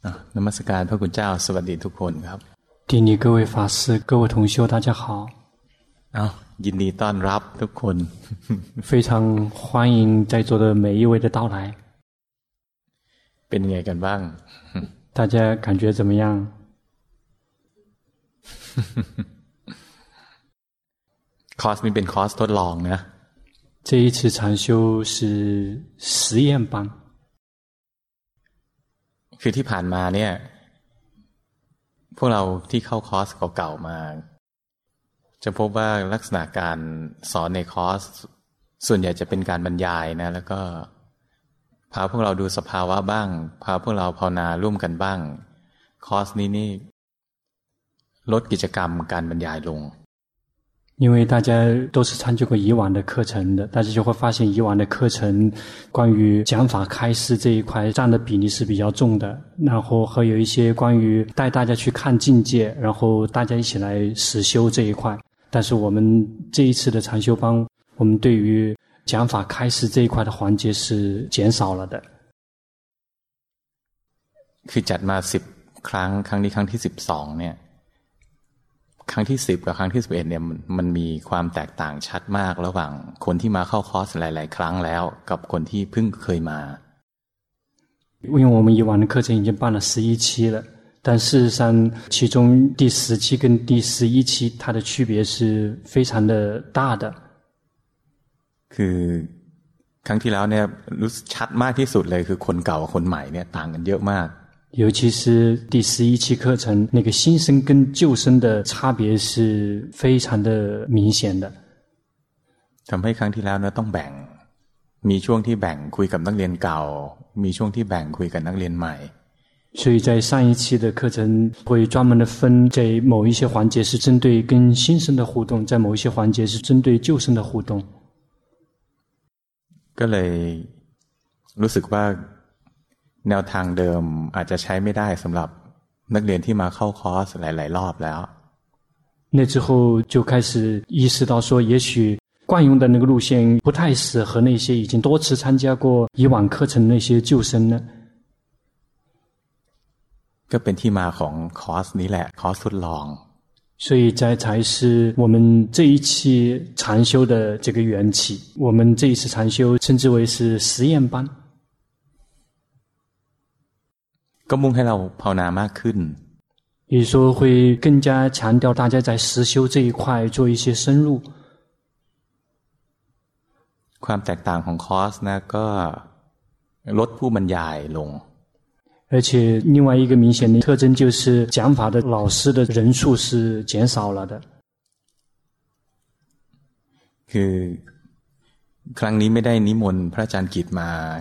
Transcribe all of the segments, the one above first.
นมัสการพระคุณเจ้าสวัสดีทุกคนครับ顶礼各位法師各位同修大家好ยินดีต้อนรับทุกคน非常歡迎在座的每一位的到來เป็นไงกันบ้าง大家感覺怎麼樣คอร์สนี้เป็นคอร์สทดลองนะ這一次禪修是實驗班คือที่ผ่านมาเนี่ยพวกเราที่เข้าคอร์สเก่าๆมาจะพบว่าลักษณะการสอนในคอร์สส่วนใหญ่จะเป็นการบรรยายนะแล้วก็พาพวกเราดูสภาวะบ้างพาพวกเราภาวนาร่วมกันบ้างคอร์สนี้นี่ลดกิจกรรมการบรรยายลง因为大家都是參加過以往的課程的，大家就會發現以往的課程關於講法開示這一塊佔的比例是比較重的，然後還有一些關於帶大家去看境界，然後大家一起來實修這一塊。但是我們這一次的禪修班，我們對於講法開示這一塊的環節是減少了的。 คือจัดมา10 ครั้งครั้งนี้ครั้งที่12เนี่ยครั้งที่10กับครั้งที่11เนี่ยมันมีความแตกต่างชัดมากระหว่างคนที่มาเข้าคอร์สหลายๆครั้งแล้วกับคนที่เพิ่งเคยมา因为我們以往的課程已經辦了11期了，但事實上其中第10期跟第11期它的區別是非常的大的。 คือครั้งที่แล้วเนี่ยรู้สึกชัดมากที่สุดเลยคือคนเก่ากับคนใหม่เนี่ยต่างกันเยอะมาก尤其是第11期課程，那個新生跟舊生的差別是非常的明顯的。 ทำให้ครั้งที่แล้วเนี่ยต้องแบ่งมีช่วงที่แบ่งคุยกับนักเรียนเก่ามีช่วงที่แบ่งคุยกับนักเรียนใหม่所以在上一期的課程會專門的分，在某一些環節是針對跟新生的互動，在某一些環節是針對舊生的互動。 ก็เลยรู้สึกว่าแนวทางเดิมอาจจะใช้ไม่ได้สำหรับนักเรียนที่มาเข้าคอร์สหลายๆรอบแล้ว那之後就開始意識到說也許慣用的那個路線不太適合那些已經多次參加過以往課程的那些舊生呢ก็เป็นที่มาของคอร์สนี้แหละคอร์สทดลอง所以這才是我們這一期禪修的這個緣起我們這一次禪修稱之為是實驗班ก็มุ่งให้เราภาวนามากขึ้น也就是說會更加強調大家在實修這一塊做一些深入ความแตกต่างของคอร์สนะก็ลดผู้บรรยายลง而且另外一個明顯的特徵就是講法的老師的人數是減少了的คือครั้งนี้ไม่ได้นิมนต์พระอาจารย์กิต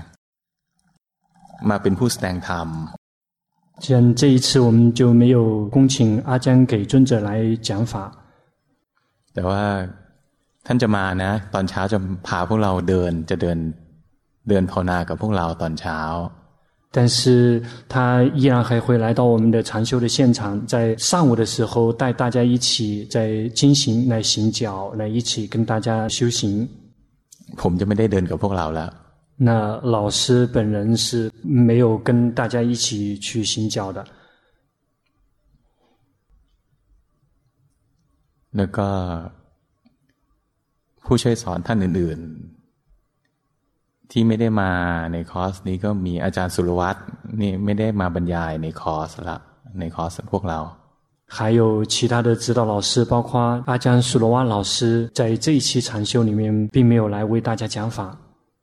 มาเป็นผู้แสดงธรรม既然這一次我們就沒有恭請阿江給尊者來講法แต่ว่าท่านจะมานะตอนเช้าจะพาพวกเราเดินภาวนากับพวกเราตอนเช้า但是他依然還會來到我們的禪修的現場在上午的時候帶大家一起在經行來行腳來一起跟大家修行ผมจะไม่ได้เดินกับพวกเราแล้ว那老師本人是沒有跟大家一起去行腳的แล้วก็ผู้ช่วยสอนท่านอื่นๆที่ไม่ได้มาในคอร์สนี้ก็มีอาจารย์สุรวัตรนี่ไม่ได้มาบรรยายในคอร์สละในคอร์สพวกเรา還有其他的指導老師包括阿江蘇羅瓦老師在這一期禪修裡面並沒有來為大家講法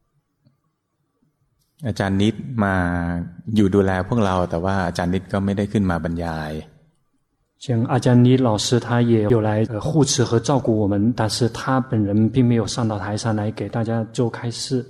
อาจารย์นิดมาอยู่ดูแลพวกเราแต่ว่าอาจารย์นิดก็ไม่ได้ขึ้นมาบรรยาย像阿江尼老師他也有來護持和照顧我們但是他本人並沒有上到台上來給大家做開示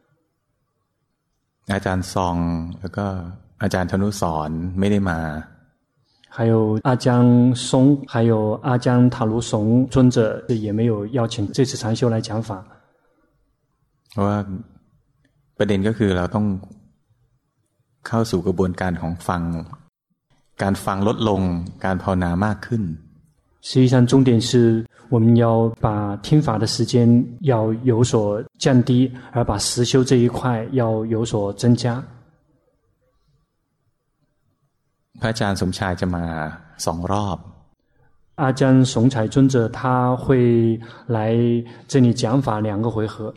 อาจารย์ซองแล้วก็อาจารย์ธนุสรไม่ได้มา還有阿江松還有阿江塔盧松尊者也沒有邀請這次禪修來講法เพราะว่าประเด็นก็คือเราต้องเข้าสู่กระบวนการของการฟังลดลงการภาวนามากขึ้น實際上重點是我們要把聽法的時間要有所降低而把實修這一塊要有所增加พระอาจารย์สมชายจะมา2 รอบ阿姜松彩尊者他会來這裡講法2個回合，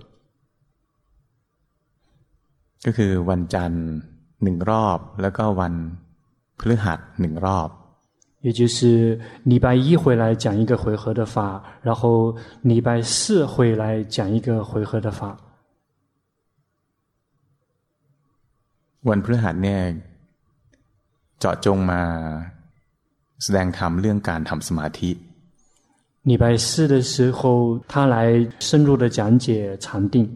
ก็คือวันจันทร์1 รอบแล้วก็วันพฤหัส1 รอบ也就是禮拜一會來講一個回合的法，然後禮拜四會來講一個回合的法。 วันพฤหัสเนี่ยเจาะจงมาแสดงธรรมเรื่องการทำสมาธิ禮拜四的時候他來深入的講解禪定，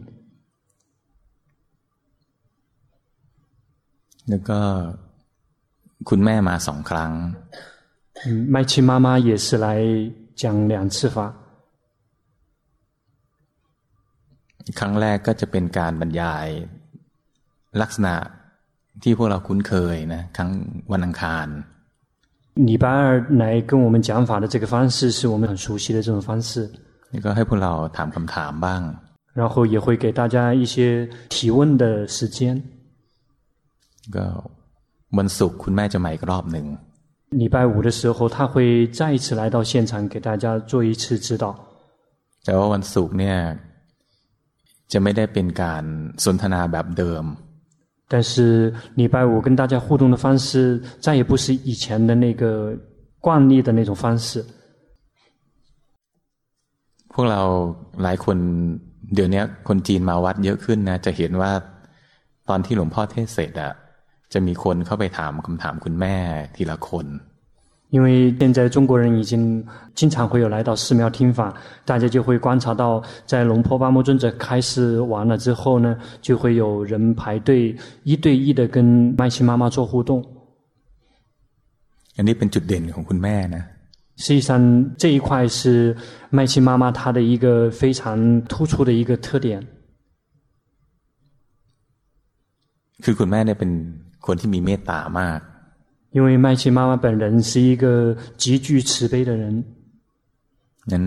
แล้วก็คุณแม่มา2 ครั้ง麥琪媽媽也是來講2次法。 ครั้งแรกก็จะเป็นการบรรยายลักษณะที่พวกเราคุ้นเคยนะครั้งวันอังคาร禮拜二來跟我們講法的這個方式是我們很熟悉的這種方式， นี่ก็ให้พวกเราถามคำถามบ้าง然後也會給大家一些提問的時間。 ก็วันศุกร์คุณแม่จะมาอีกรอบหนึ่ง禮拜五的時候他會再一次來到現場給大家做一次指導， แต่ว่าวันศุกร์เนี่ยจะไม่ได้เป็นการสนทนาแบบเดิม但是禮拜五跟大家互動的方式再也不是以前的那個慣例的那種方式。 พวกเราหลายคนเดี๋ยวนี้คนจีนมาวัดเยอะขึ้นนะจะเห็นว่าตอนที่หลวงพ่อเทศเสร็จอะจะมีคนเข้าไปถามคำถามคุณแม่ทีละคน因為現在中國人已經經常會有來到寺廟聽法，大家就會觀察到在龍坡巴摩尊者開示完了之後呢，就會有人排隊1對1的跟麥琪媽媽做互動。 อันนี้เป็นจุดเด่นของคุณแม่นะ實際上這一塊是麥琪媽媽她的一個非常突出的一個特點。 คือคุณแม่เนี่ยเป็นคนที่มีเมตตามาก因為麥琪媽媽本人是一個極具慈悲的人， นั้น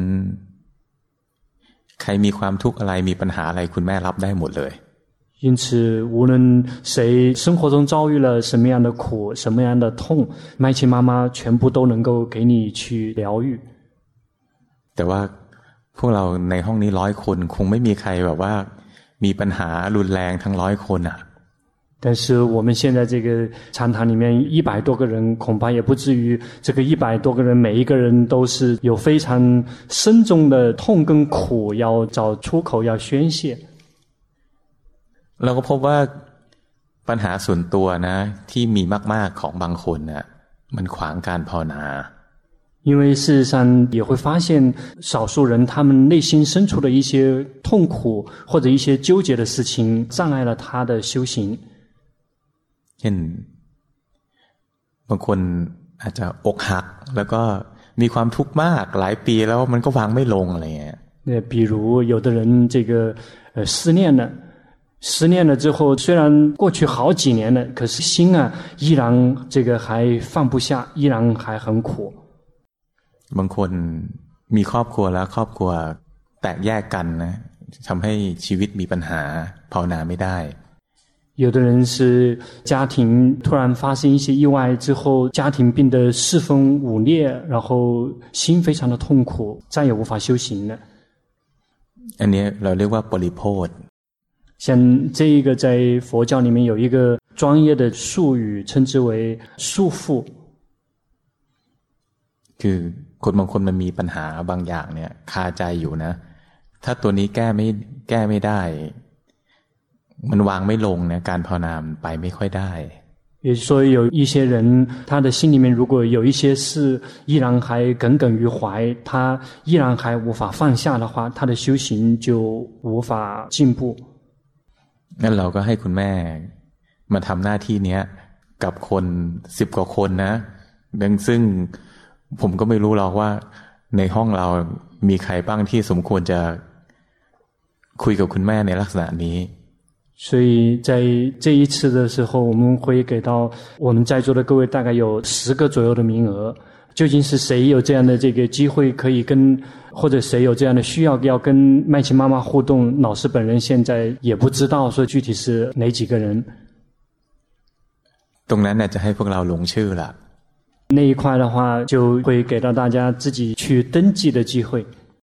ใครมีความทุกข์อะไรมีปัญหาอะไรคุณแม่รับได้หมดเลย因此無論誰生活中遭遇了什麼樣的苦什麼樣的痛，麥琪媽媽全部都能夠給你去療癒。 แต่ว่าพวกเราในห้องนี้100 คนคงไม่มีใครแบบว่ามีปัญหารุนแรงทั้ง100 คนอ่ะ但是我們現在這個禪堂裡面100多個人，恐怕也不至於這個100多個人每一個人都是有非常深重的痛跟苦要找出口要宣洩。 เราก็พบว่าปัญหาส่วนตัวนะที่มีมากๆของบางคนน่ะมันขวางการภาวนา因為事實上也會發現少數人他們內心深處的一些痛苦或者一些糾結的事情障礙了他的修行。 เช่นบางคนอาจจะอกหักแล้วก็มีความทุกข์มากหลายปีแล้วมันก็วางไม่ลงอะไรเงี้ย比如有的人這個失戀了之後雖然過去好幾年了可是心啊依然這個還放不下依然還很苦บางคนมีครอบครัวแล้วครอบครัวแตกแยกกันนะทำให้ชีวิตมีปัญหาภาวนาไม่ได้有的人是家庭突然發生一些意外之後家庭變得四分五裂然後心非常的痛苦再也無法修行了อันนี้เราเรียกว่าปริโภท像這一個在佛教裡面有一個專業的術語稱之為束縛คือคนบางคนมันมีปัญหาบางอย่างเนี่ยคาใจอยู่นะถ้าตัวนี้แก้ไม่ได้มันวางไม่ลงนะการภาวนาไปไม่ค่อยได้也就是說有一些人他的心裡面如果有一些事依然還耿耿於懷他依然還無法放下的話他的修行就無法進步งั้นเราก็ให้คุณแม่มาทำหน้าที่นี้กับคน10 กว่าคนนะซึ่งผมก็ไม่รู้หรอกว่าในห้องเรามีใครบ้างที่สมควรจะคุยกับคุณแม่ในลักษณะนี้所以在這一次的時候我們會給到我們在座的各位大概有10個左右的名額究竟是誰有這樣的這個機會可以跟或者誰有這樣的需要要跟麥琪媽媽互動老師本人現在也不知道說具體是哪幾個人ตรงนั้นน่ะจะให้พวกเราลงชื่อละ那一塊的話，就會給到大家自己去登記的機會。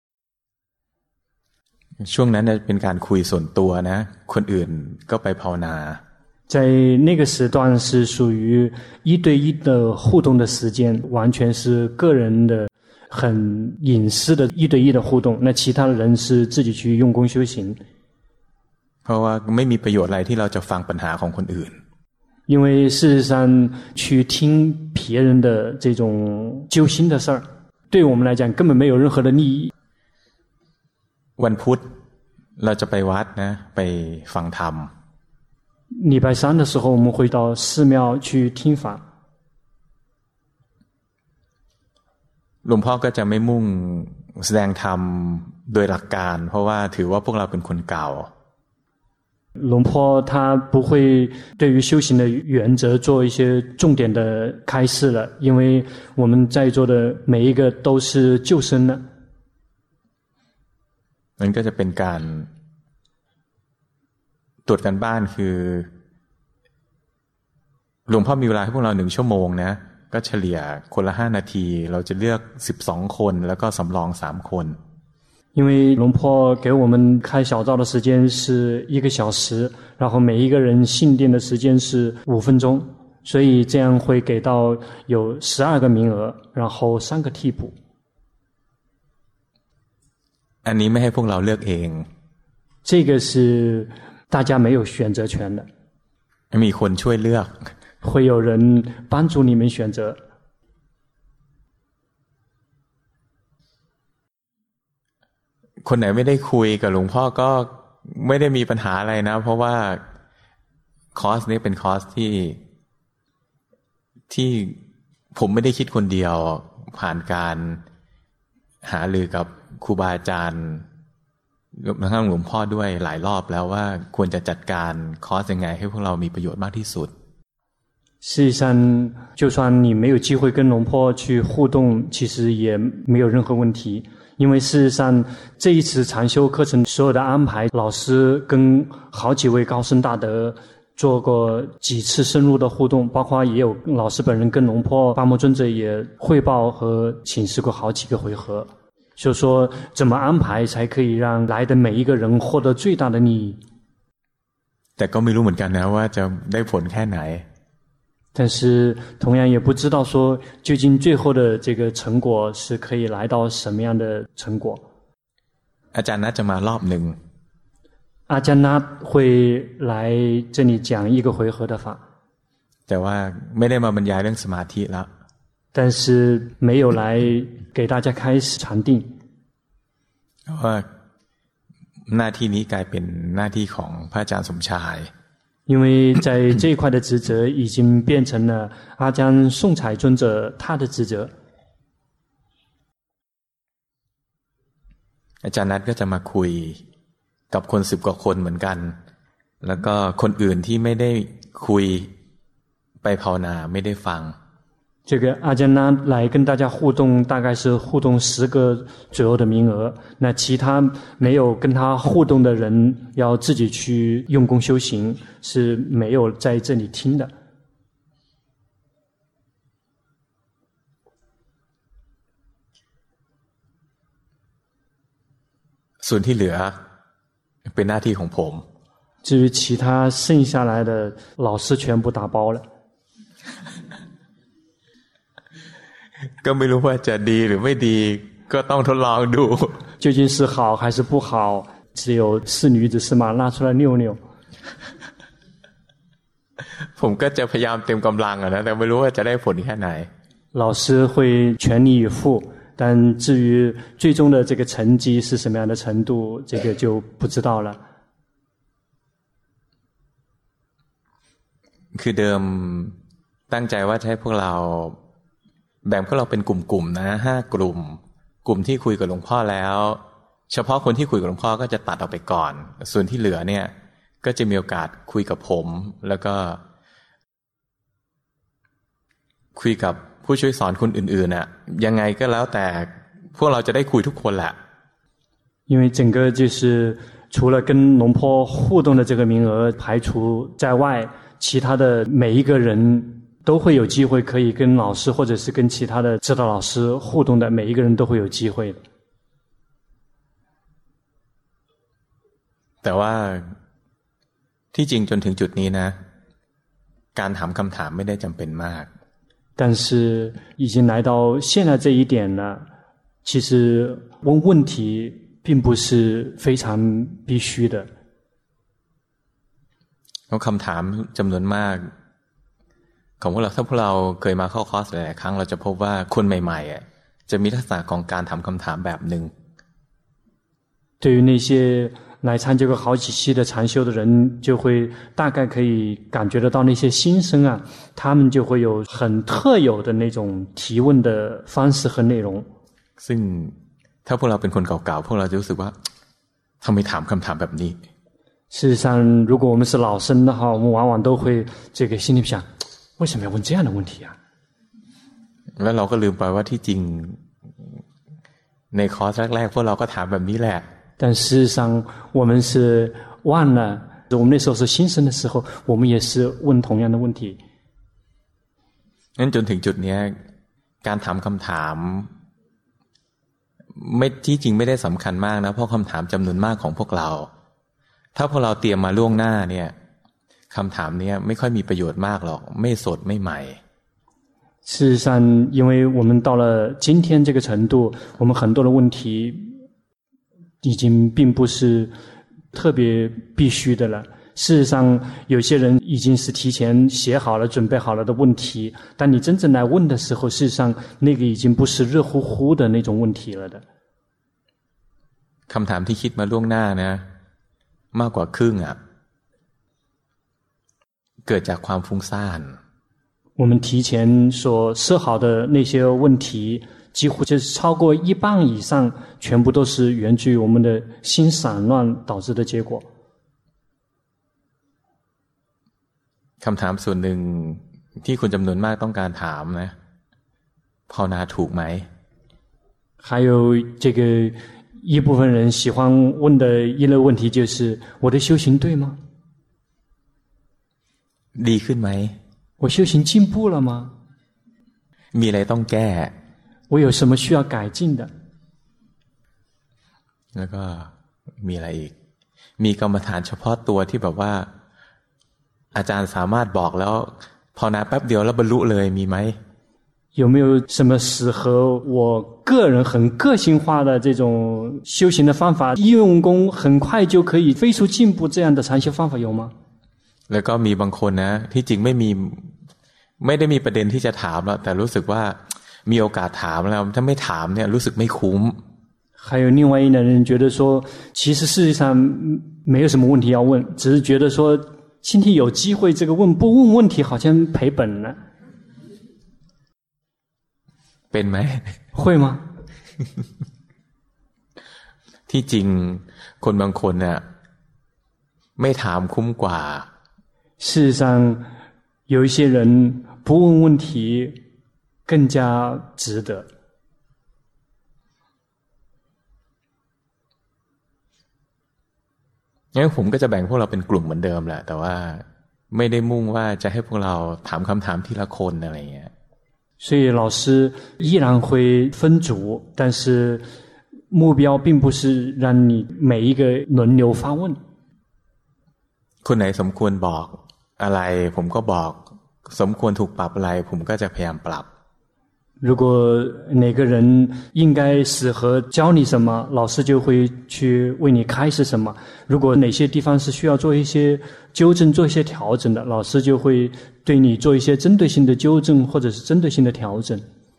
ช่วงนั้นเป็นการคุยส่วนตัวนะคนอื่นก็ไปภาวนา在那個時段是屬於一對一的互動的時間，完全是個人的很隱私的一對一的互動，那其他的人是自己去用功修行。 เพราะว่าไม่มีประโยชน์อะไรที่เราจะฟังปัญหาของคนอื่น因為事實上去聽別人的這種揪心的事兒，對我們來講根本沒有任何的利益。 วันพุธเราจะไปวัดนะไปฟังธรรม禮拜三的時候我們會到寺廟去聽法。 หลวงพ่อก็จะไม่มุ่งแสดงธรรมโดยหลักการเพราะว่าถือว่าพวกเราเป็นคนเก่า龍坡他不會對於修行的原則做一些重點的開示了，因為我們在座的每一個都是舊生了。 มันก็จะเป็นการตรวจการบ้านคือหลวงพ่อมีเวลาให้พวกเรา1 ชั่วโมงนะก็เฉลี่ยคนละ5 นาทีเราจะเลือก12 คนแล้วก็สำรอง3 คน因為龍坡給我們開小灶的時間是1個小時，然後每一個人信殿的時間是5分鐘，所以這樣會給到有12個名額，然後3個替補。 อันนี้ไม่ให้พวกเราเลือกเอง這個是大家沒有選擇權的， มีคนช่วยเลือก會有人幫助你們選擇。 คนไหนไม่ได้คุยกับหลวงพ่อก็ไม่ได้มีปัญหาอะไรนะเพราะว่าคอร์สนี้เป็นคอร์สที่ผมไม่ได้คิดคนเดียวผ่านการหารือกับครูบาอาจารย์ทั้งหลวงพ่อด้วยหลายรอบแล้วว่าควรจะจัดการคอร์สยังไงให้พวกเรามีประโยชน์มากที่สุด事實上就算你沒有機會跟龍坡去互動其實也沒有任何問題因為事實上這一次禪修課程所有的安排老師跟好幾位高僧大德做過幾次深入的互動包括也有老師本人跟龍坡巴摩尊者也匯報和請示過好幾個回合就說怎麼安排才可以讓來的每一個人獲得最大的利益แต่ก็ไม่รู้เหมือนกันนะว่าจะได้ผลแค่ไหน但是同樣也不知道說究竟最後的這個成果是可以來到什麼樣的成果อาจารย์นัทจะมารอบหนึ่ง阿加納會來這裡講一個回合的法แต่ว่าไม่ได้มาบรรยายเรื่องสมาธิแล้ว但是沒有來給大家開始禪定เพราะว่าหน้าที่นี้กลายเป็นหน้าที่ของพระอาจารย์สมชาย因為在這一塊的職責已經變成了阿江宋彩尊者他的職責อาจารย์นัทก็จะมาคุยกับคน10 กว่าคนเหมือนกันแล้วก็คนอื่นที่ไม่ได้คุยไปภาวนาไม่ได้ฟัง這個阿加納來跟大家互動大概是互動10個左右的名額那其他沒有跟他互動的人要自己去用功修行是沒有在這裡聽的ส่วนที่เหลือเป็นหน้าที่ของผม至於其他剩下來的老師全部打包了ก็ไม่รู้ว่าจะดีหรือไม่ดีก็ต้องทดลองดู究竟是好還是不好只有是女子是馬拉出來溜溜ผมก็จะพยายามเต็มกำลังนะแต่ไม่รู้ว่าจะได้ผลแค่ไหน老師會全力以赴但至於最終的這個成績是什麼樣的程度這個就不知道了คือเดิมตั้งใจว่าจะให้พวกเราแบ่งพวกเราเป็นกลุ่มๆนะ5 กลุ่มที่คุยกับหลวงพ่อแล้วเฉพาะคนที่คุยกับหลวงพ่อก็จะตัดออกไปก่อนส่วนที่เหลือเนี่ยก็จะมีโอกาสคุยกับผมแล้วก็คุยกับผู้ช่วยสอนคนอื่นๆน่ะยังไงก็แล้วแต่พวกเราจะได้คุยทุกคนแหละ因為整個就是除了跟龍坡互動的這個名額排除在外其他的每一個人都會有機會可以跟老師或者是跟其他的指導老師互動的，每一個人都會有機會的。 แต่ว่าที่จริงจนถึงจุดนี้นะการถามคำถามไม่ได้จำเป็นมาก但是已經來到現在這一點了，其實問問題並不是非常必須的。 คำถามจำนวนมากของพวกเราถ้าพวกเราเคยมาเข้าคอร์สหลายๆครั้งเราจะพบว่าคนใหม่ๆจะมีลักษณะของการถามคำถามแบบหนึ่ง對於那些來參加過好幾期的禪修的人，就會大概可以感覺得到那些新生啊，他們就會有很特有的那種提問的方式和內容。 ซึ่งถ้าพวกเราเป็นคนเก่าๆพวกเราจะรู้สึกว่าทำไมถามคำถามแบบนี้事實上，如果我們是老生的話，我們往往都會心裡想，為什麼要問這樣的問題啊？ แล้วเราก็ลืมไปว่าที่จริงในคอร์สแรกๆพวกเราก็ถามแบบนี้แหละ但事實上，我們是忘了，我們那時候是新生的時候，我們也是問同樣的問題。 งั้นจนถึงจุดนี้การถามคำถามไม่ที่จริงไม่ได้สำคัญมากนะเพราะคำถามจำนวนมากของพวกเราถ้าพวกเราเตรียมมาล่วงหน้าเนี่ยคำถามนี้ไม่ค่อยมีประโยชน์มากหรอกไม่สดไม่ใหม่事實上，因為我們到了今天這個程度，我們很多的問題已經並不是特別必須的了。事實上，有些人已經是提前寫好了、準備好了的問題，但你真正來問的時候，事實上那個已經不是熱乎乎的那種問題了的。 คำถามที่คิดมาล่วงหน้านะมากกว่าครึ่งเกิดจากความฟุ้งซ่าน我們提前所設好的那些問題幾乎就是超過一半以上全部都是源自於我們的心散亂導致的結果。 คำถามส่วนหนึ่งที่คนจำนวนมากต้องการถามนะภาวนาถูกไหม還有這個一部分人喜歡問的一類問題就是我的修行對嗎ดีขึ้นไหม我修行進步了嗎มีอะไรต้องแก้我有什麼需要改進的แล้วก็มีอะไรอีกมีกรรมฐานเฉพาะตัวที่แบบว่าอาจารย์สามารถบอกแล้วภาวนาแป๊บเดียวแล้วบรรลุเลยมีไหม有沒有什麼適合我個人很個性化的這種修行的方法，一用功很快就可以飛速進步這樣的禪修方法有嗎？ แล้วก็มีบางคนนะที่จริงไม่ได้มีประเด็นที่จะถามแล้วแต่รู้สึกว่ามีโอกาสถามแล้วถ้าไม่ถามเนี่ยรู้สึกไม่คุ้ม還有另外一類人覺得說其實事實上沒有什麼問題要問，只是覺得說今天有機會這個問不問問題好像賠本了เป็นไหม會嗎ที่จริงคนบางคนเนี่ยไม่ถามคุ้มกว่า事實上有一些人不問問題更加值得งั้นผมก็จะแบ่งพวกเราเป็นกลุ่มเหมือนเดิมแหละแต่ว่าไม่ได้มุ่งว่าจะให้พวกเราถามคำถามทีละคนอะไรอย่างเงี้ย所以老師依然會分組，但是目標並不是讓你每一個輪流發問。 คนไหนสมควรบอกอะไรผมก็บอกสมควรถูกปรับอะไรผมก็จะพยายามปรับ如果哪個人應該適合教你什麼，老師就會去為你開示什麼。如果哪些地方是需要做一些糾正、做一些調整的，老師就會對你做一些針對性的糾正或者是針對性的調整。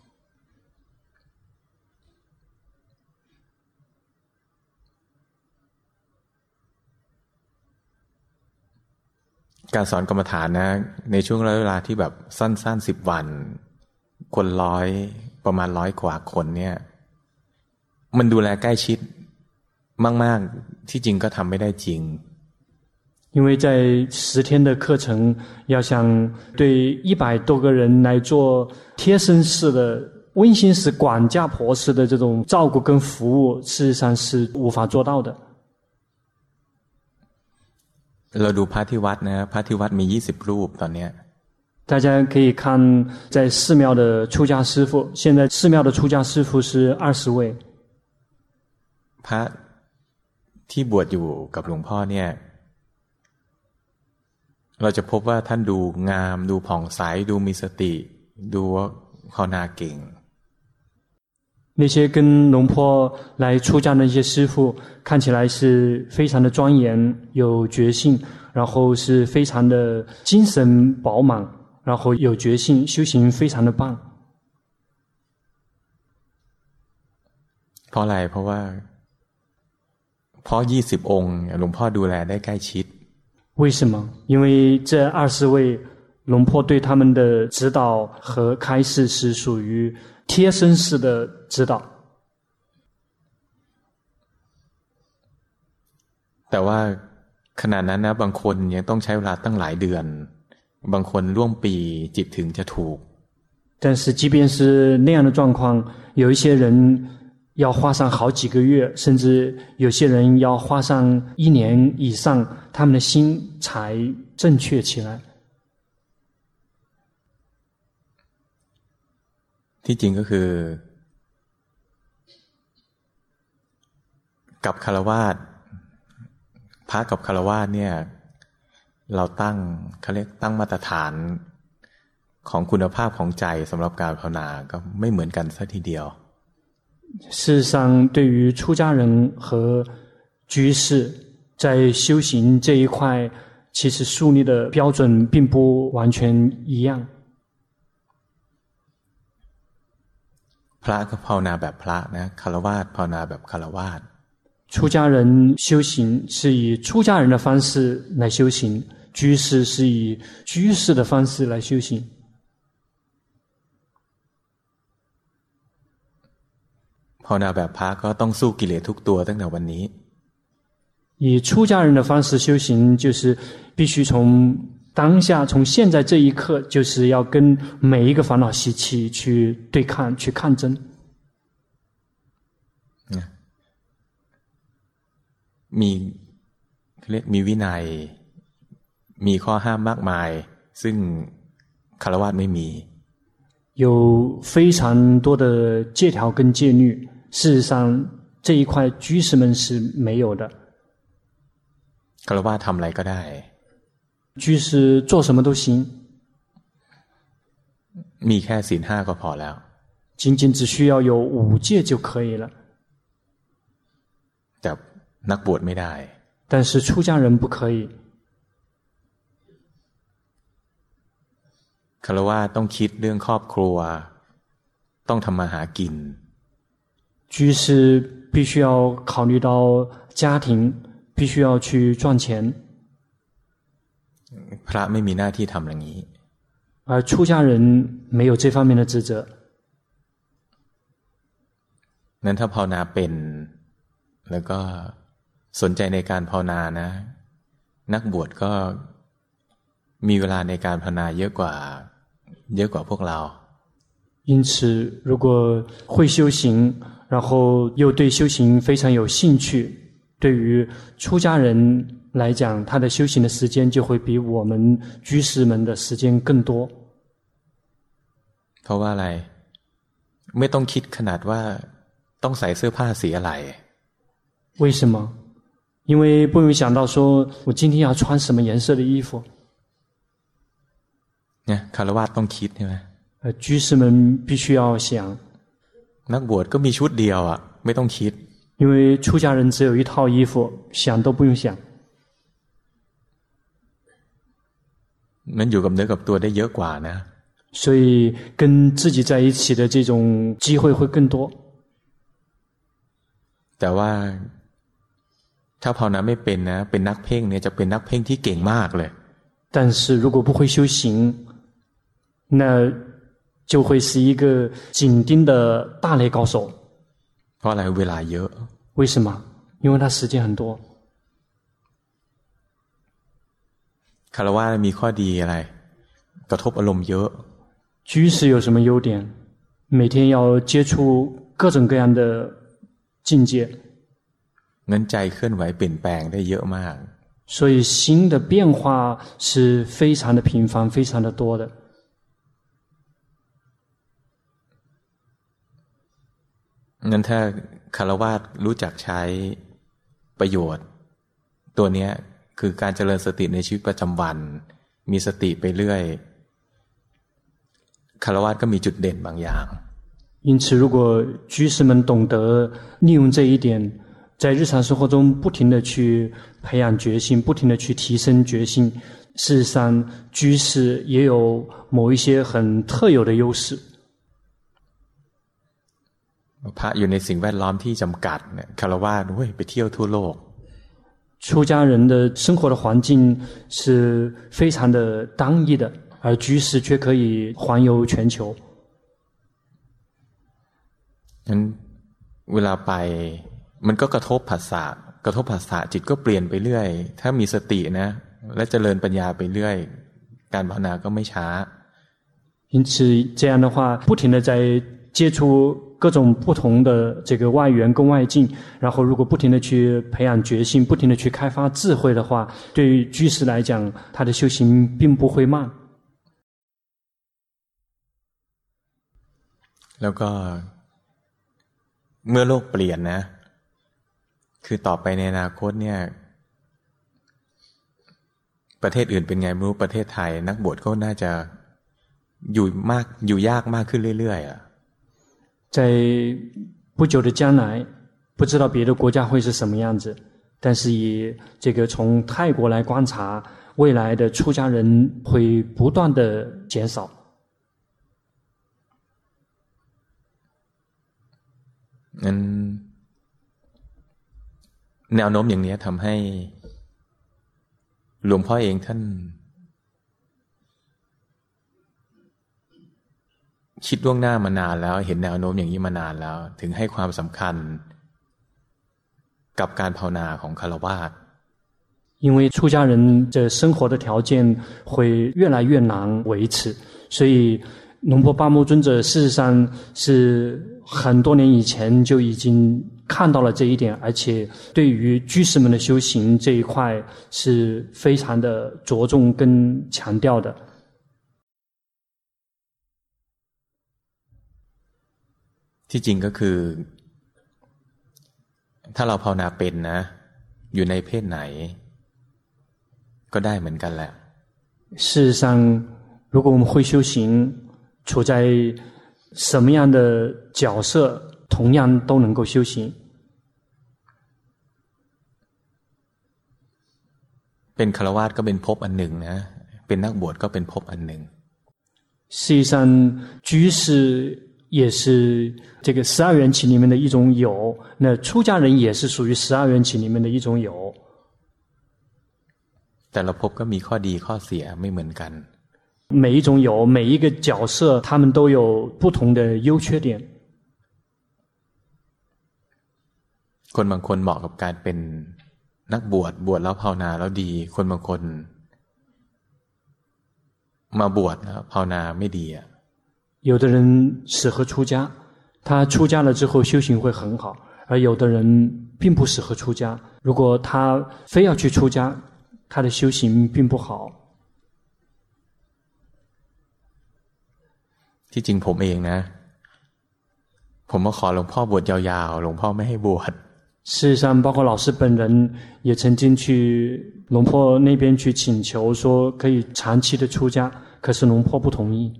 การสอนกรรมฐานนะในช่วงเวลาที่แบบสั้นๆ10 วันคนประมาณ100 กว่าคนเนี่ยมันดูแลใกล้ชิดมากๆที่จริงก็ทำไม่ได้จริง因為在10天的課程要想對100多個人來做貼身式的溫馨式管家婆式的這種照顧跟服務事實上是無法做到的เราดูพระที่วัดนะพระที่วัดมี20 รูปตอนเนี้ย大家可以看在寺廟的出家師父，現在寺廟的出家師父是20位。 พระที่บวชอยู่กับหลวงพ่อเนี่ยเราจะพบว่าท่านดูงามดูผ่องใสดูมีสติดูภาวนาเก่ง那些跟龍坡來出家的那些師父看起來是非常的莊嚴有決心，然後是非常的精神飽滿，然後有決心修行非常的棒。 เพราะอะไรเพราะ20องค์หลวงพ่อดูแลได้ใกล้ชิด為什麼？因為這20位龍坡對他們的指導和開示是屬於貼身式的指導。 แต่ว่าขณะนั้นนะบางคนยังต้องใช้เวลาตั้งหลายเดือนบางคนร่วมปีจิตถึงจะถูก但是即便是那樣的狀況，有一些人要花上好幾個月，甚至有些人要花上1年以上，他們的心才正確起來。 ที่จริงก็คือกับฆราวาสพระกับฆราวาสเนี่ยเราเขาเรียกตั้งมาตรฐานของคุณภาพของใจสำหรับการภาวนาก็ไม่เหมือนกันซะทีเดียว事實上對於出家人和居士在修行這一塊其實樹立的標準並不完全一樣พระก็ภาวนาแบบพระนะฆราวาสภาวนาแบบฆราวาส出家人修行是以出家人的方式來修行，居士是以居士的方式來修行。 ภาวนาแบบพระก็ต้องสู้กิเลสทุกตัวตั้งแต่วันนี้以出家人的方式修行，就是必須從當下，從現在這一刻，就是要跟每一個煩惱習氣去對抗，去抗爭。 มีวินัยมีข้อห้ามมากมายซึ่งฆราวาสไม่มี有非常多的戒條跟戒律，事實上這一塊居士們是沒有的。 ฆราวาสทำอะไรก็ได้居士做什麼都行， มีแค่ศีล5ก็พอแล้ว僅僅只需要有5戒就可以了。 แต่นักบวชไม่ได้但是出家人不可以。 ฆราวาสต้องคิดเรื่องครอบครัวต้องทำมาหากิน居士必須要考慮到家庭，必須要去賺錢。 พระไม่มีหน้าที่ทำอย่างนี้而出家人沒有這方面的職責。 นั้นถ้าภาวนาเป็นแล้วก็สนใจในการภาวนานะนักบวชก็มีเวลาในการภาวนาเยอะกว่าพวกเรา因此如果會修行然後又對修行非常有興趣，對於出家人來講，他的修行的時間就會比我們居士們的時間更多。 เพราะว่าอะไรไม่ต้องคิดขนาดว่าต้องใส่เสื้อผ้าสีอะไร為什麼？因為不用想到說我今天要穿什麼顏色的衣服。 เนี่ยฆราวาสต้องคิดใช่ไหม居士們必須要想。 นักบวชก็มีชุดเดียวอ่ะไม่ต้องคิด因為出家人只有一套衣服，想都不用想。 มันอยู่กับเนื้อกับตัวได้เยอะกว่านะ所以跟自己在一起的這種機會會更多。 แต่ว่าถ้าภาวนาไม่เป็นนะเป็นนักเพ่งเนี่ยจะเป็นนักเพ่งที่เก่งมากเลย但是如果不會修行，那就會是一個緊盯的大雷高手。 เพราะอะไรเวลาเยอะ為什麼？因為他時間很多。 ฆราวาสมีข้อดีอะไรกระทบอารมณ์เยอะ居士有什麼優點？每天要接觸各種各樣的境界。 งั้นใจเคลื่อนไหวเปลี่ยนแปลงได้เยอะมาก所以心的變化是非常的頻繁非常的多的งั้นถ้าคฤหัสถ์รู้จักใช้ประโยชน์ตัวเนี้ยคือการเจริญสติในชีวิตประจำวันมีสติไปเรื่อยคฤหัสถ์ก็มีจุดเด่นบางอย่าง因此如果居士们懂得利用这一点在日常生活中不停地去培養決心不停地去提升決心事實上居士也有某一些很特有的優勢พระอยู่ในสิ่งแวดล้อมที่จำกัดเนี่ยคฤหัสถ์ไปเที่ยวทั่วโลก出家人的生活的環境是非常的單一的而居士卻可以環遊全球งั้นเวลาไปมันก็กระทบผัสสะจิตก็เปลี่ยนไปเรื่อยถ้ามีสตินะและเจริญปัญญาไปเรื่อยการภาวนาก็ไม่ช้า因此這樣的話不停地在接觸各種不同的這個外緣跟外境然後如果不停地去培養決心不停地去開發智慧的話對於居士來講他的修行並不會慢แล้วก็เมื่อโลกเปลี่ยนนะคือต่อไปในอนาคตเนี่ยประเทศอื่นเป็นไงไม่รู้ประเทศไทยนักบวชก็น่าจะอยู่ยากมากขึ้นเรื่อยๆอ่ะ在不久的將來不知道別的國家會是什麼樣子但是以這個從泰國來觀察未來的出家人會不斷的減少งั้นแนวโน้มอย่างนี้ทำให้หลวงพ่อเองท่านคิดล่วงหน้ามานานแล้วเห็นแนวโน้มอย่างนี้มานานแล้วถึงให้ความสำคัญกับการภาวนาของฆราวาส因为出家人的生活的條件會越來越難維持所以龍婆巴木尊者事實上是很多年以前就已經看到了這一點而且對於居士們的修行這一塊是非常的着重跟強調的ที่จริงก็คือถ้าเราภาวนาเป็นนะอยู่ในเพศไหนก็ได้เหมือนกันแหละ事實上如果我們會修行處在什麼樣的角色同樣都能夠修行เป็นฆราวาสก็เป็นภพอันหนึ่งนะเป็นนักบวชก็เป็นภพอันหนึ่ง實際上居士也是這個12緣起裡面的一種有那出家人也是屬於12緣起裡面的一種有แต่ละภพก็มีข้อดีข้อเสียไม่เหมือนกัน每一種有每一個角色他們都有不同的優缺點คนบางคนเหมาะกับการเป็นนักบวชแล้วภาวนาแล้วดีคนบางคนมาบวชแล้วภาวนาไม่ดีอ่ะ有的人適合出家他出家了之後修行會很好而有的人並不適合出家如果他非要去出家他的修行並不好ที่จริงผมเองนะผมมาขอหลวงพ่อบวชยาวๆหลวงพ่อไม่ให้บวช事實上包括老師本人也曾經去龍婆那邊去請求說可以長期的出家可是龍婆不同意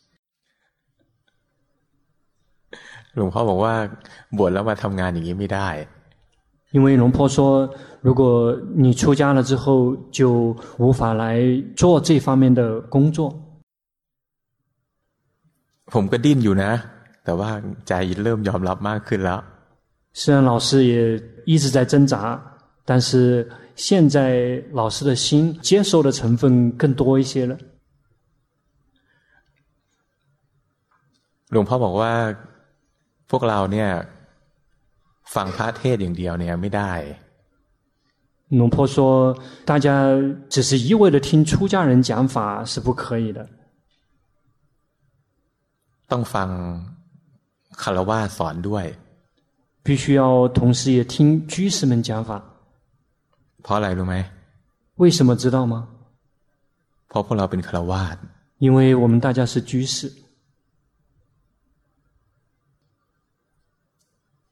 หลวงพ่อบอกว่าบวชแล้วมาทำงานอย่างนี้ไม่ได้因為龍婆說如果你出家了之後就無法來做這方面的工作ผมก็ดิ้นอยู่นะแต่ว่าใจเริ่มยอมรับมากขึ้นแล้ว雖然老師也一直在掙扎但是現在老師的心接受的成分更多一些了หลวงพ่อบอกว่าพวกเราเนี่ยฟังพระเทศอย่างเดียวเนี่ยไม่ได้龍婆說大家只是一味的聽出家人講法是不可以的ต้องฟังฆราวาสสอนด้วย必須要同時也聽居士們講法เพราะอะไรรู้ไหม為什麼知道嗎เพราะพวกเราเป็นฆราวาส因為我們大家是居士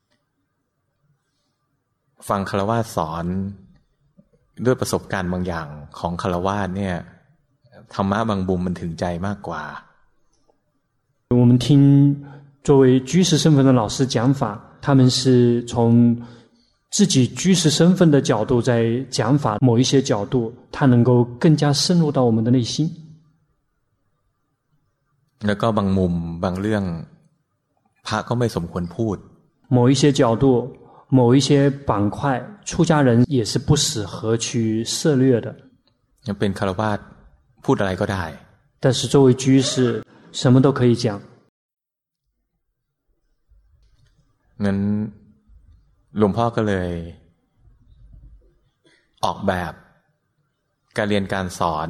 ฟังฆราวาสสอนด้วยประสบการณ์บางอย่างของฆราวาสเนี่ยธรรมะบางมุมมันถึงใจมากกว่า我们听作为居士身份的老师講法，他們是從自己居士身份的角度在講法，某一些角度他能夠更加深入到我們的內心。 แล้วก็บางมุมบางเรื่องพระก็ไม่สมควรพูด某一些角度某一些板塊出家人也是不適合去涉獵的เป็นฆราวาสพูดอะไรก็ได้但是作為居士什麼都可以講งั้นหลวงพ่อก็เลยออกแบบการเรียนการสอน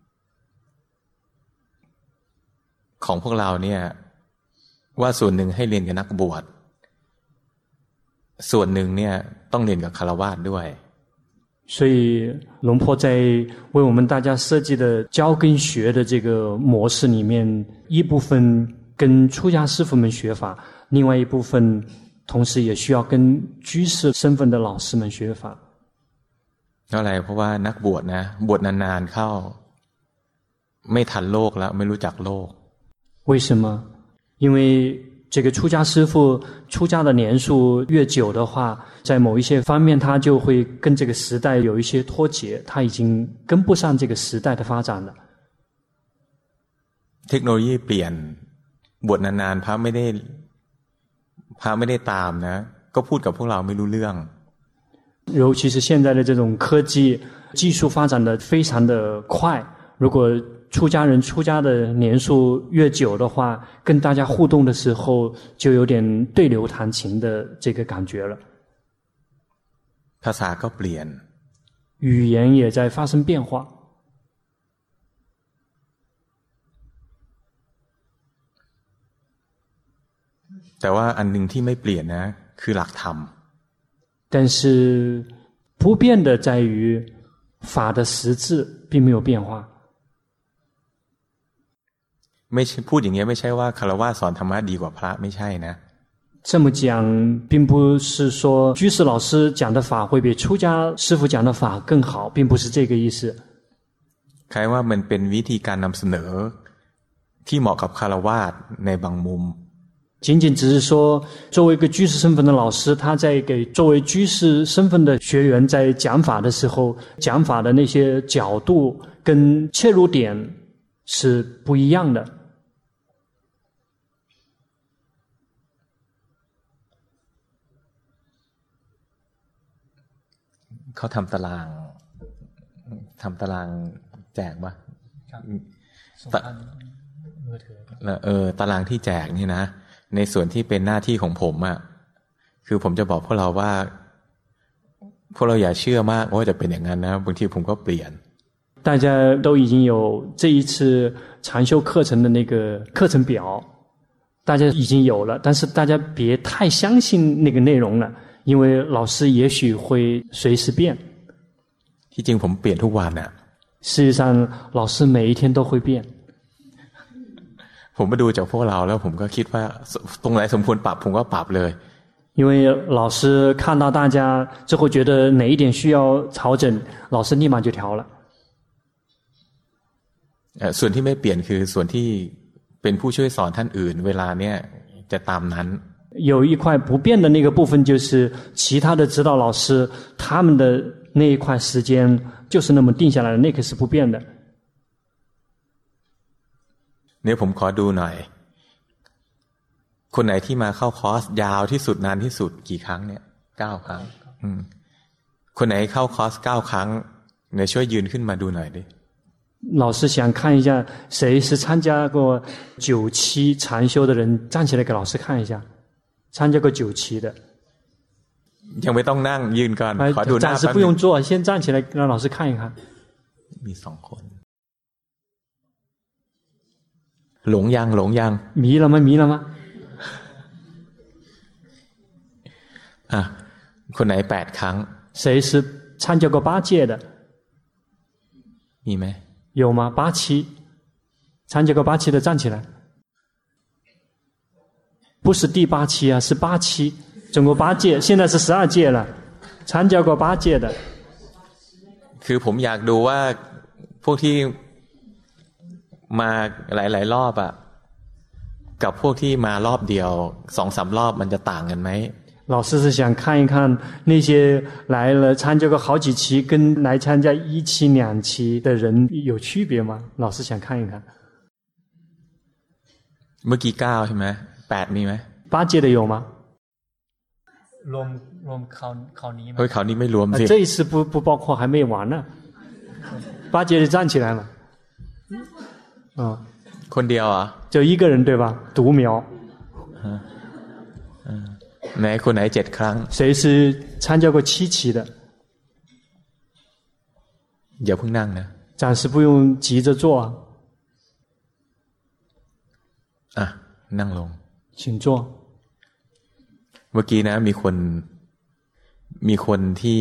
ของพวกเราเนี่ยว่าส่วนหนึ่งให้เรียนกับนักบวชส่วนหนึ่งเนี่ยต้องเรียนกับฆราวาสด้วย所以龍婆在為我們大家設計的教跟學的這個模式裡面，一部分跟出家師父們學法，另外一部分同時也需要跟居士身份的老師們學法。 เพราะอะไรเพราะว่านักบวชนะบวชนานๆเข้าไม่ทันโลกแล้วไม่รู้จักโลก為什麼？因為這個出家師父出家的年數越久的話，在某一些方面他就會跟這個時代有一些脫節，他已經跟不上這個時代的發展了。 เทคโนโลยีเปลี่ยนบวชนานๆพระไม่ได้ตามนะก็พูดกับพวกเราไม่รู้เรื่อง尤其是現在的這種科技技術發展的非常的快，如果出家人出家的年數越久的話，跟大家互動的時候就有點對流彈琴的這個感覺了。 ภาษาก็เปลี่ยน語言也在發生變化。 แต่ว่าอันหนึ่งที่ไม่เปลี่ยนนะคือหลักธรรม但是不變的在於法的實質並沒有變化。 ไม่พูดอย่างนี้ไม่ใช่ว่าฆราวาสสอนธรรมะดีกว่าพระไม่ใช่นะ這麼講並不是說居士老師講的法會比出家師父講的法更好，並不是這個意思。 ใครว่ามันเป็นวิธีการนำเสนอที่เหมาะกับฆราวาสในบางมุม僅僅只是說作為一個居士身份的老師，他在給作為居士身份的學員在講法的時候，講法的那些角度跟切入點是不一樣的。 เขาทำตารางแจกป่ะตารางที่แจกนี่นะในส่วนที่เป็นหน้าที่ของผมอ่ะคือผมจะบอกพวกเราว่าพวกเราอย่าเชื่อมากว่าจะเป็นอย่างนั้นนะบางทีผมก็เปลี่ยน大家都已經有這一次禪修課程的那個課程表，大家已經有了，但是大家別太相信那個內容了，因為老師也許會隨時變。 ที่จริงผมเปลี่ยนทุกวันน่ะ事實上老師每一天都會變。 ผมมาดูจากพวกเราแล้วผมก็คิดว่าตรงไหนสมควรปรับผมก็ปรับเลย因為老師看到大家之後覺得哪一點需要調整，老師立馬就調了。 ส่วนที่ไม่เปลี่ยนคือส่วนที่เป็นผู้ช่วยสอนท่านอื่นเวลาเนี้ยจะตามนั้น有一塊不變的那個部分就是其他的指導老師他們的那一塊時間就是那麼定下來的，那個是不變的。 เนี่ยผมขอดูหน่อยคนไหนที่มาเข้าคอร์สยาวที่สุดนานที่สุดกี่ครั้งเนี่ย9 ครั้งคนไหนเข้าคอร์ส9 ครั้งเนี่ยช่วยยืนขึ้นมาดูหน่อยดิ老師想看一下誰是參加過9期禪修的人，站起來給老師看一下參加過9期的ยังไม่ต้องนั่งยืนก่อนขอดูหน้า暫時不用坐，先站起來讓老師看一看มี2 คนหลงยัง迷了嗎คนไหน8 ครั้ง誰是參加過8屆的มีไหม有嗎？8期參加過8期的站起來，不是第8期啊，是8期，總共8屆，現在是12屆了。 參加過八戒的。 คือผมอยากดูว่าพวกที่มาหลายๆรอบอะกับพวกที่มารอบเดียว2-3รอบมันจะต่างกันไหม老師是想看一看那些來了參加過好幾期跟來參加1期2期的人有區別嗎？老師想看一看。 เมื่อกี้9ใช่ไหม8มีไหม八戒的有嗎？ รวมเขานี้ไหมเฮ้ยเขานี้ไม่รวมสิ這一次不包括還沒完呢。八戒就站起來了。 คนเดียวเหรอ就一個人對吧？獨苗。 ไหนคนไหน7ครั้ง誰是參加過7期的？ อย่าเพิ่งนั่งนะ暫時不用急着坐อ่ะนั่งลง請坐。 เมื่อกี้นะมีคนที่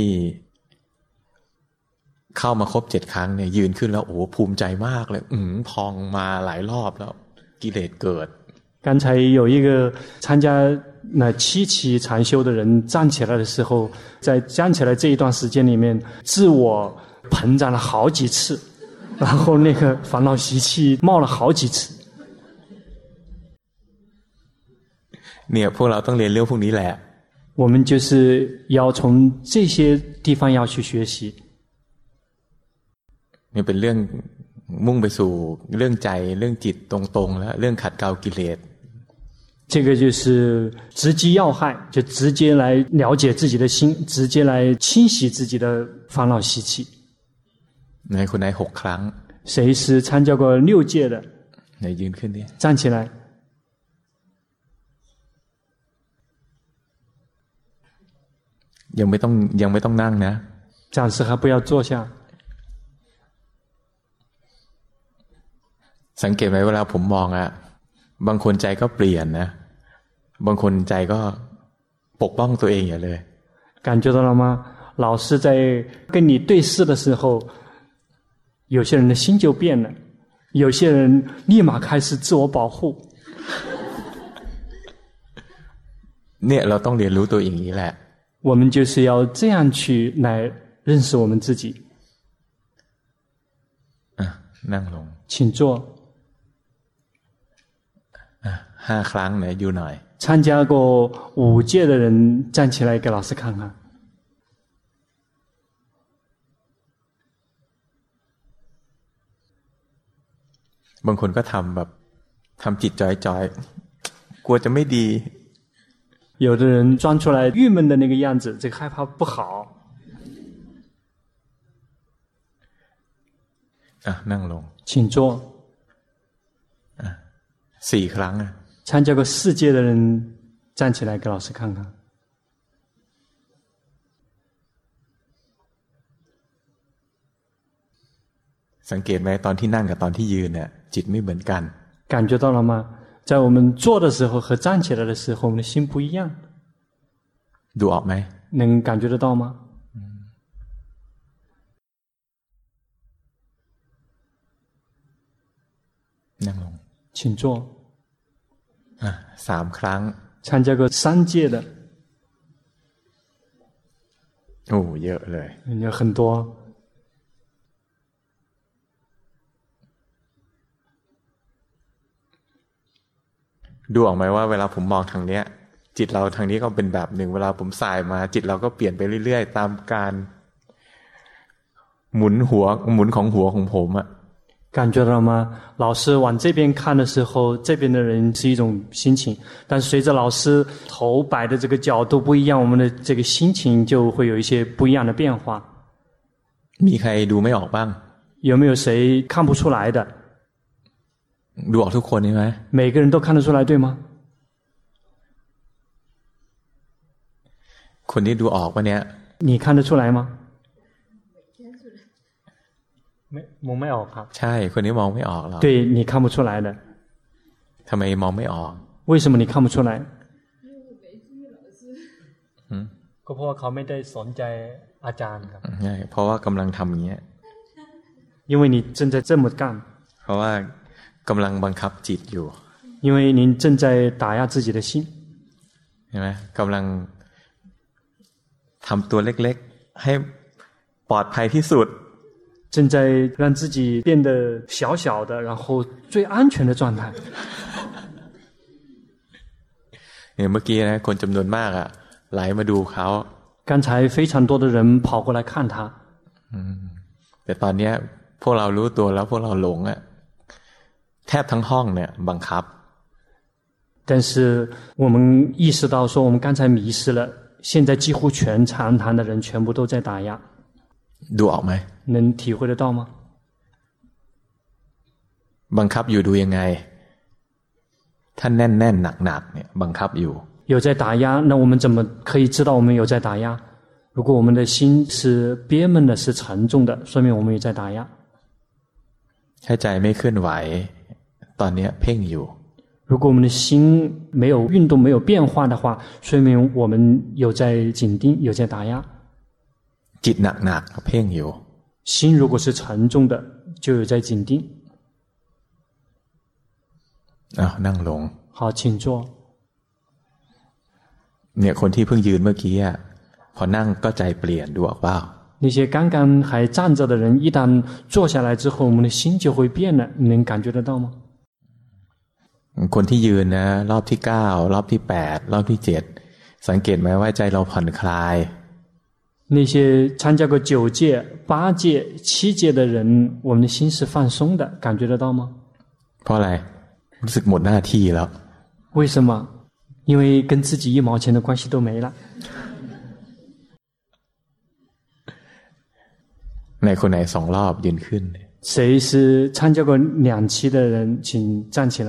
เข้ามาครบ7ครั้งเนี่ยยืนขึ้นแล้วโอ้ภูมิใจมากเลยพองมาหลายรอบแล้วกิเลสเกิด剛才有一個參加那7期禪修的人站起來的時候，在站起來這一段時間裡面，自我膨脹了好幾次，然後那個煩惱習氣冒了好幾次。 เนี่ยพวกเราต้องเรียนเรื่องพวกนี้แหละ我們就是要從這些地方要去學習。 นี่เป็นเรื่องมุ่งไปสู่เรื่องใจเรื่องจิตตรงๆแล้วเรื่องขัดเกลากิเลส這個就是直擊要害，就直接來了解自己的心，直接來清洗自己的煩惱習氣。 ไหนคนไหน6ครั้ง誰是參加過6屆的？ ไหนยืนขึ้นดิ站起來。 ยังไม่ต้องนั่งนะ暫時還不要坐下。 สังเกตไหมเวลาผมมองอะบางคนใจก็เปลี่ยนนะบางคนใจก็ปกป้องตัวเองอย่างเลย感覺到了嗎？老師在跟你對視的時候，有些人的心就變了，有些人立馬開始自我保護。 เนี่ยเราต้องเรียนรู้ตัวอย่างนี้แหละ我們就是要這樣去來認識我們自己。 นั่งลง請坐。 5ครั้งไหนอยู่หน่อย參加過5屆的人站起來給老師看看。 บางคนก็ทำจิตจอยกลัวจะไม่ดี有的人裝出來鬱悶的那個樣子，這個害怕不好。 นั่งลง請坐。 4ครั้ง參加過4屆的人站起來給老師看看。 สังเกตไหมตอนที่นั่งกับตอนที่ยืนเนี่ยจิตไม่เหมือนกัน感覺到了嗎？在我們坐的時候和站起來的時候，我們的心不一樣。 ดูออกไหม能感覺得到嗎？ นั่งลง請坐。 3ครั้ง參加過3屆的โอ้เยอะเลย有很多ดูออกไหมว่าเวลาผมมองทางเนี้ยจิตเราทางนี้ก็เป็นแบบหนึ่งเวลาผมสายมาจิตเราก็เปลี่ยนไปเรื่อยๆตามการหมุนของหัวของผมอะ感覺到嗎？老師往這邊看的時候，這邊的人是一種心情，但隨着老師頭擺的這個角度不一樣，我們的這個心情就會有一些不一樣的變化。 มีใครดูไม่ออกบ้าง有沒有誰看不出來的？ ดูออกทุกคนใช่ไหม每個人都看得出來，對嗎？ คนที่ดูออกปะเนี่ย你看得出來嗎？มองไม่ออกครับใช่คนนี้มองไม่ออกหรอก对你看不出來的ทำไมมองไม่ออก為什麼你看不出來ก็เพราะว่าเขาไม่ได้สนใจอาจารย์ครับใช่เพราะว่ากำลังทำอย่างเงี้ย因為你正在這麼幹เพราะว่ากำลังบังคับจิตอยู่因為您正在打壓自己的心ใช่ไหมกำลังทำตัวเล็กๆให้ปลอดภัยที่สุด正在让自己变得小小的，然后最安全的状态。 เมื่อกี้นะคนจำนวนมากอ่ะไหลมาดูเขา刚才非常多的人跑过来看他。 แต่ตอนนี้พวกเรารู้ตัวแล้วพวกเราหลงอ่ะแทบทั้งห้องเนี่ยบังคับ但是我们意識到說我們剛才迷失了，現在幾乎全長堂的人全部都在打壓。 ดูออกไหม能體會得到嗎？ บังคับอยู่ดูยังไงถ้าแน่นๆหนักๆเนี่ยบังคับอยู่有在打壓，那我們怎麼可以知道我們有在打壓？如果我們的心是憋悶的，是沉重的，說明我們有在打壓。 ถ้าใจไม่เคลื่อนไหวตอนนี้เพ่งอยู่如果我們的心沒有運動沒有變化的話，說明我們有在緊盯有在打壓。 จิตหนักๆเพ่งอยู่心如果是沉重的就有在緊盯。 นั่งลง好請坐。 เนี่ยคนที่เพิ่งยืนเมื่อกี้อ่ะพอนั่งก็ใจเปลี่ยนดูออกเปล่า那些剛剛還站着的人一旦坐下來之後我們的心就會變了，你能感覺得到嗎？ คนที่ยืนนะรอบที่9รอบที่8รอบที่7สังเกตไหมว่าใจเราผ่อนคลาย那些參加過9屆8屆7屆的人我們的心是放鬆的，感覺得到嗎？ เพราะอะไรรู้สึกหมดหน้าที่แล้ว為什麼？因為跟自己一毛錢的關係都沒了。 ไหนคนไหน2รอบยืนขึ้น誰是參加過2期的人請站起來。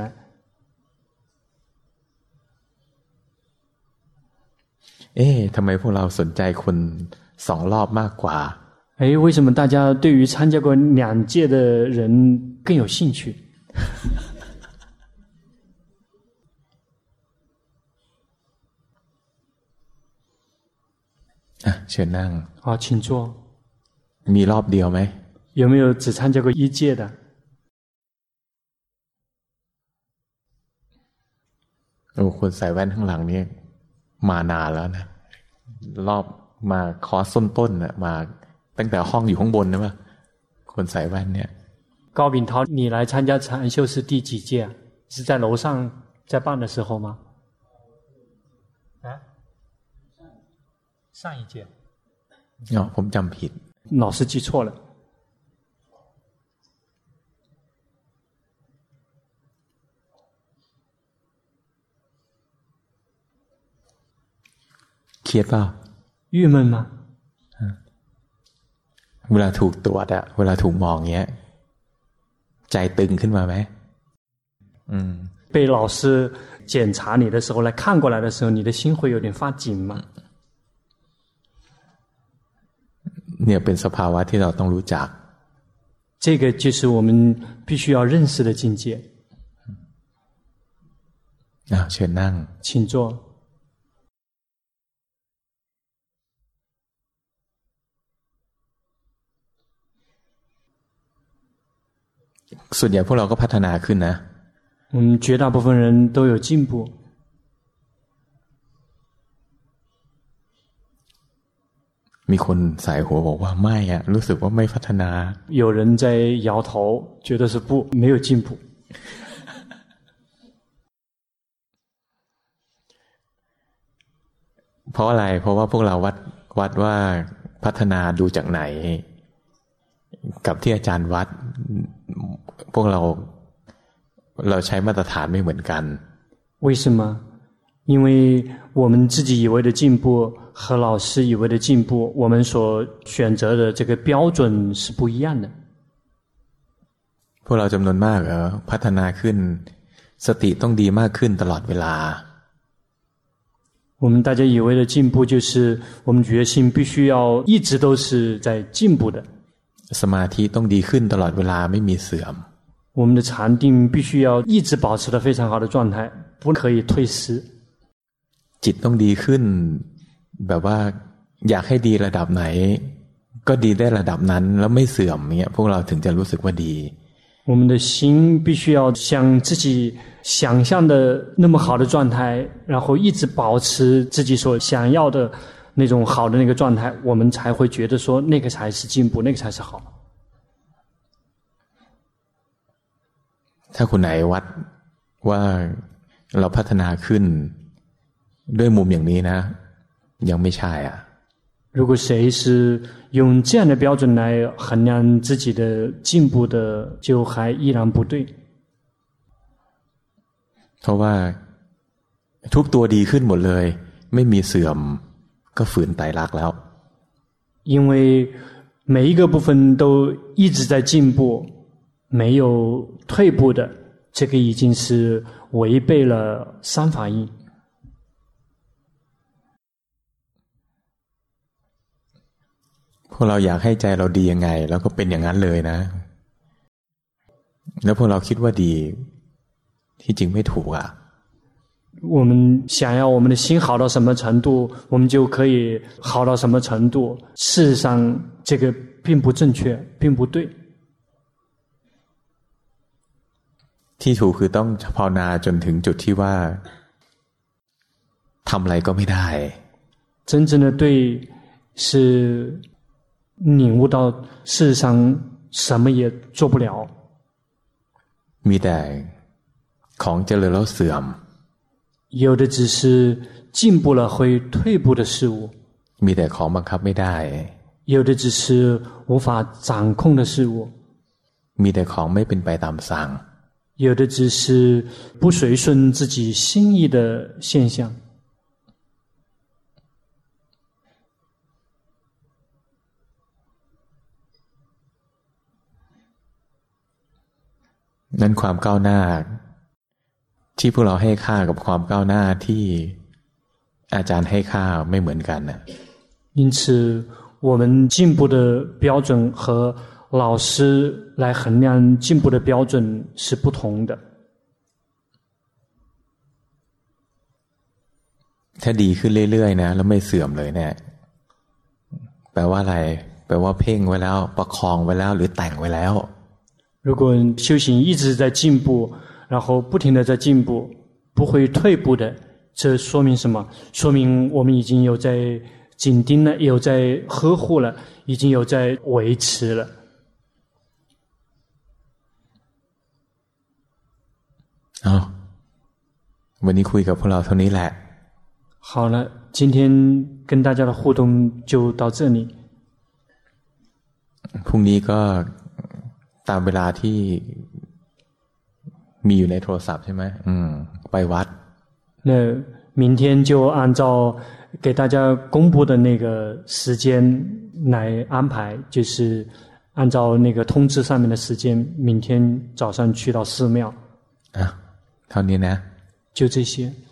ทำไมพวกเราสนใจคน2รอบมากกว่า為什麼大家對於參加過2屆的人更有興趣？ เชิญนั่ง好請坐。 มีรอบเดียวไหม有沒有只參加過1屆的？ คนใส่แว่นข้างหลังนี่มานานแล้วนะรอบมาคอร์สต้นๆน่ะมาตั้งแต่ห้องอยู่ข้างบนนะว่าคนใส่แว่นเนี่ย高秉韜你來參加禪修是第幾屆啊？是在樓上在辦的時候嗎？上一屆ผมจำผิด老師記錯了。 เครียดเปล่า鬱悶嗎？ เวลาถูกตรวจอะเวลาถูกมองเงี้ยใจตึงขึ้นมาไหม被老師檢查你的時候來看過來的時候你的心會有點發緊嗎？ เนี่ยเป็นสภาวะที่เราต้องรู้จัก這個就是我們必須要認識的境界。 เชิญนั่ง請坐。 ส่วนใหญ่พวกเราก็พัฒนาขึ้นนะ絕大部分人都有進步。 มีคนสายหัวบอกว่าไม่อะรู้สึกว่าไม่พัฒนา有人在搖頭覺得是不沒有進步เพราะอะไรเพราะว่าพวกเราวัดว่าพัฒนาดูจากไหนกับที่อาจารย์วัดพวกเราใช้มาตรฐานไม่เหมือนกัน為什麼？因為我們自己以為的進步和老師以為的進步我們所選擇的這個標準是不一樣的。 พวกเราจำนวนมากพัฒนาขึ้นสติต้องดีมากขึ้นตลอดเวลา我們大家以為的進步就是我們決心必須要一直都是在進步的。 สมาธิต้องดีขึ้นตลอดเวลาไม่มีเสื่อม我們的禪定必須要一直保持得非常好的狀態，不可以退失。 จิตต้องดีขึ้นแบบว่าอยากให้ดีระดับไหนก็ดีได้ระดับนั้นแล้วไม่เสื่อมเนี่ยพวกเราถึงจะรู้สึกว่าดี我們的心必須要像自己想象的那麼好的狀態，然後一直保持自己所想要的那種好的那個狀態，我們才會覺得說那個才是進步，那個才是好。 ถ้าคนไหนวัดว่าเราพัฒนาขึ้นด้วยมุมอย่างนี้นะยังไม่ใช่อ่ะ如果誰是用這樣的標準來衡量自己的進步的，就還依然不對。 เพราะว่าทุกตัวดีขึ้นหมดเลยไม่มีเสื่อมก็ฝืนไตรลักษณ์แล้ว因為每一個部分都一直在進步，沒有退步的，這個已經是違背了三法印。 พวกเราอยากให้ใจเราดียังไงเราก็เป็นอย่างนั้นเลยนะแล้วพวกเราคิดว่าดีที่จริงไม่ถูกอ่ะ我們想要我們的心好到什麼程度，我們就可以好到什麼程度。事實上，這個並不正確，並不對。 ที่ถูกคือต้องภาวนาจนถึงจุดที่ว่าทำอะไรก็ไม่ได้真正的对是領悟到事實上什麼也做不了。 มีแต่ของเจริญแล้วเสื่อม有的只是進步了會退步的事物， มีแต่ของบังคับไม่ได้有的只是無法掌控的事物， มีแต่ของไม่เป็นไปตามสั่ง有的只是不隨順自己心意的現象。 นั้นความก้าวหน้าที่พวกเราให้ค่ากับความก้าวหน้าที่อาจารย์ให้ค่าไม่เหมือนกันนะ因此我們進步的標準和老師來衡量進步的標準是不同的。 ถ้าดีขึ้นเรื่อยๆนะแล้วไม่เสื่อมเลยเนี่ยแปลว่าอะไรแปลว่าเพ่งไว้แล้วประคองไว้แล้วหรือแต่งไว้แล้ว如果修行一直在進步，然後不停地在進步，不會退步的，這說明什麼？說明我們已經有在緊盯了，有在呵護了，已經有在維持了。 วันนี้คุยกับพวกเราเท่านี้แหละ好了，今天跟大家的互動就到這裡。 พรุ่งนี้ก็ตามเวลาที่มีอยู่ในโทรศัพท์ใช่ไหมไปวัด那明天就按照給大家公布的那個時間來安排，就是按照那個通知上面的時間，明天早上去到寺廟。 เท่านี้นะ就這些。